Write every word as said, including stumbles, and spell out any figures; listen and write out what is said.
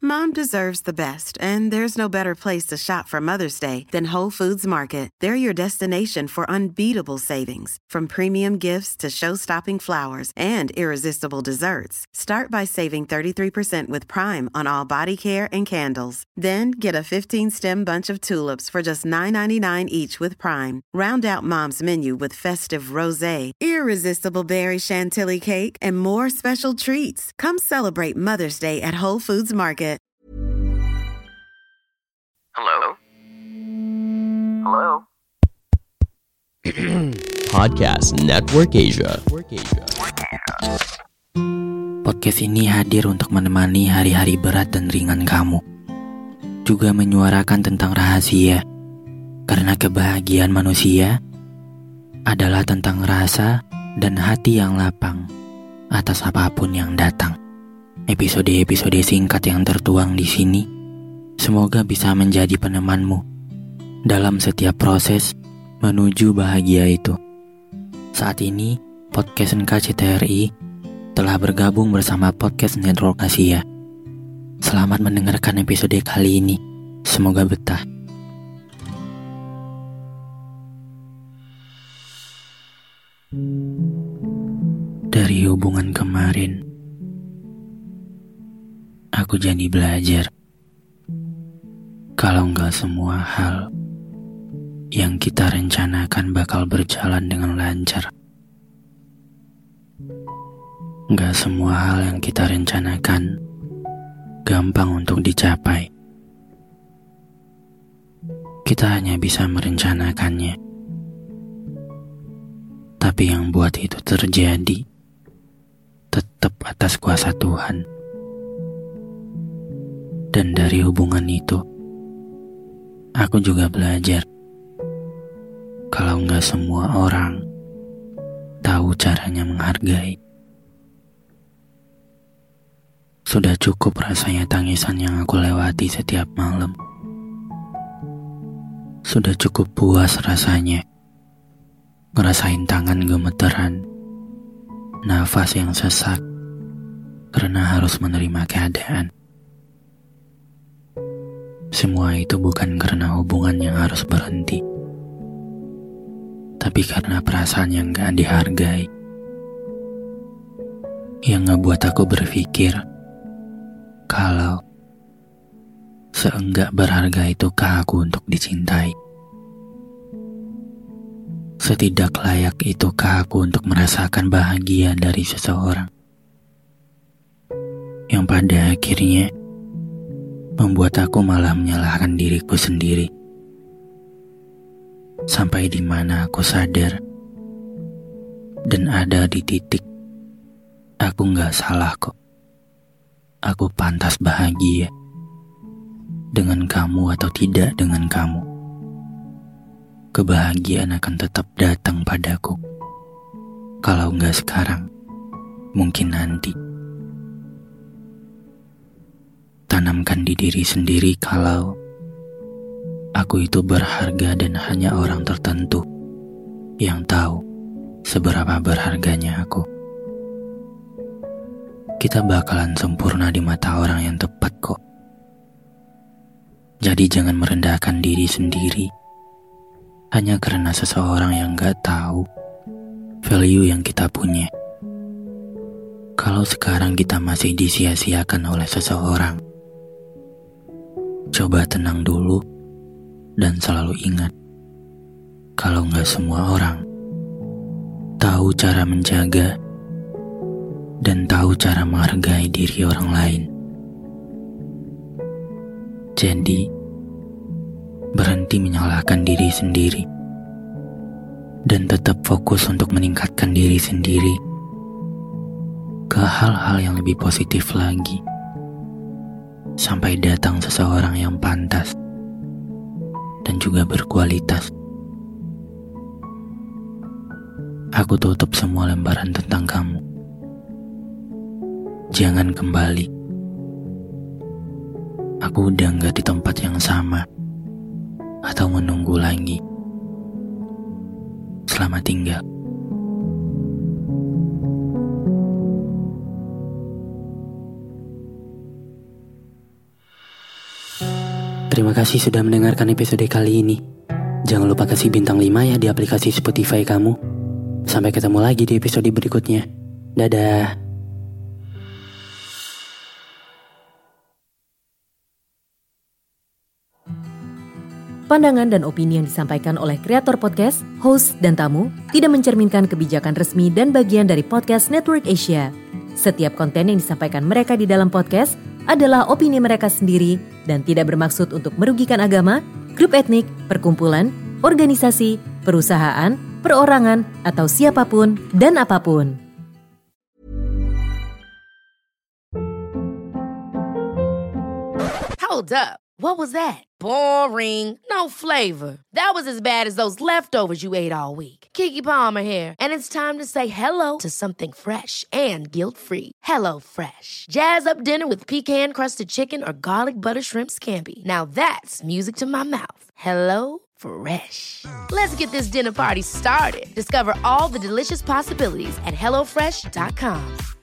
Mom deserves the best, and there's no better place to shop for Mother's Day than Whole Foods Market. They're your destination for unbeatable savings, from premium gifts to show-stopping flowers and irresistible desserts. Start by saving thirty-three percent with Prime on all body care and candles. Then get a fifteen-stem bunch of tulips for just nine ninety-nine each with Prime. Round out Mom's menu with festive rosé, irresistible berry chantilly cake, and more special treats. Come celebrate Mother's Day at Whole Foods Market. Hello? Hello? Podcast Network Asia. Podcast ini hadir untuk menemani hari-hari berat dan ringan kamu. Juga menyuarakan tentang rahasia. Karena kebahagiaan manusia adalah tentang rasa dan hati yang lapang atas apapun yang datang. Episode-episode singkat yang tertuang di sini semoga bisa menjadi penemanmu dalam setiap proses menuju bahagia itu. Saat ini, Podcast N K C T R I telah bergabung bersama Podcast Network Asia. Selamat mendengarkan episode kali ini. Semoga betah. Dari hubungan kemarin, aku jadi belajar kalau nggak semua hal yang kita rencanakan bakal berjalan dengan lancar. Nggak semua hal yang kita rencanakan gampang untuk dicapai. Kita hanya bisa merencanakannya. Tapi yang buat itu terjadi tetap atas kuasa Tuhan. Dan dari hubungan itu, aku juga belajar kalau nggak semua orang tahu caranya menghargai. Sudah cukup rasanya tangisan yang aku lewati setiap malam. Sudah cukup puas rasanya ngerasain tangan gemeteran, nafas yang sesak karena harus menerima keadaan. Semua itu bukan karena hubungan yang harus berhenti, tapi karena perasaan yang gak dihargai, yang ngebuat aku berpikir kalau seenggak berharga itukah aku untuk dicintai. Setidak layak itukah aku untuk merasakan bahagia dari seseorang, yang pada akhirnya membuat aku malah menyalahkan diriku sendiri. Sampai di mana aku sadar dan ada di titik aku gak salah kok. Aku pantas bahagia dengan kamu atau tidak dengan kamu. Kebahagiaan akan tetap datang padaku. Kalau gak sekarang, mungkin nanti. Tanamkan di diri sendiri kalau aku itu berharga dan hanya orang tertentu yang tahu seberapa berharganya aku. Kita bakalan sempurna di mata orang yang tepat kok. Jadi jangan merendahkan diri sendiri hanya karena seseorang yang gak tahu value yang kita punya. Kalau sekarang kita masih disia-siakan oleh seseorang, coba tenang dulu dan selalu ingat kalau gak semua orang tahu cara menjaga dan tahu cara menghargai diri orang lain. Jadi, berhenti menyalahkan diri sendiri dan tetap fokus untuk meningkatkan diri sendiri ke hal-hal yang lebih positif lagi. Sampai datang seseorang yang pantas dan juga berkualitas. Aku tutup semua lembaran tentang kamu. Jangan kembali. Aku udah gak di tempat yang sama atau menunggu lagi. Selamat tinggal. Terima kasih sudah mendengarkan episode kali ini. Jangan lupa kasih bintang lima ya di aplikasi Spotify kamu. Sampai ketemu lagi di episode berikutnya. Dadah. Pandangan dan opini yang disampaikan oleh kreator podcast, host, dan tamu tidak mencerminkan kebijakan resmi dan bagian dari Podcast Network Asia. Setiap konten yang disampaikan mereka di dalam podcast adalah opini mereka sendiri dan tidak bermaksud untuk merugikan agama, grup etnik, perkumpulan, organisasi, perusahaan, perorangan, atau siapapun dan apapun. Hold up. What was that? Boring. No flavor. That was as bad as those leftovers you ate all week. Keke Palmer here, and it's time to say hello to something fresh and guilt-free. Hello Fresh. Jazz up dinner with pecan-crusted chicken or garlic butter shrimp scampi. Now that's music to my mouth. Hello Fresh. Let's get this dinner party started. Discover all the delicious possibilities at hello fresh dot com.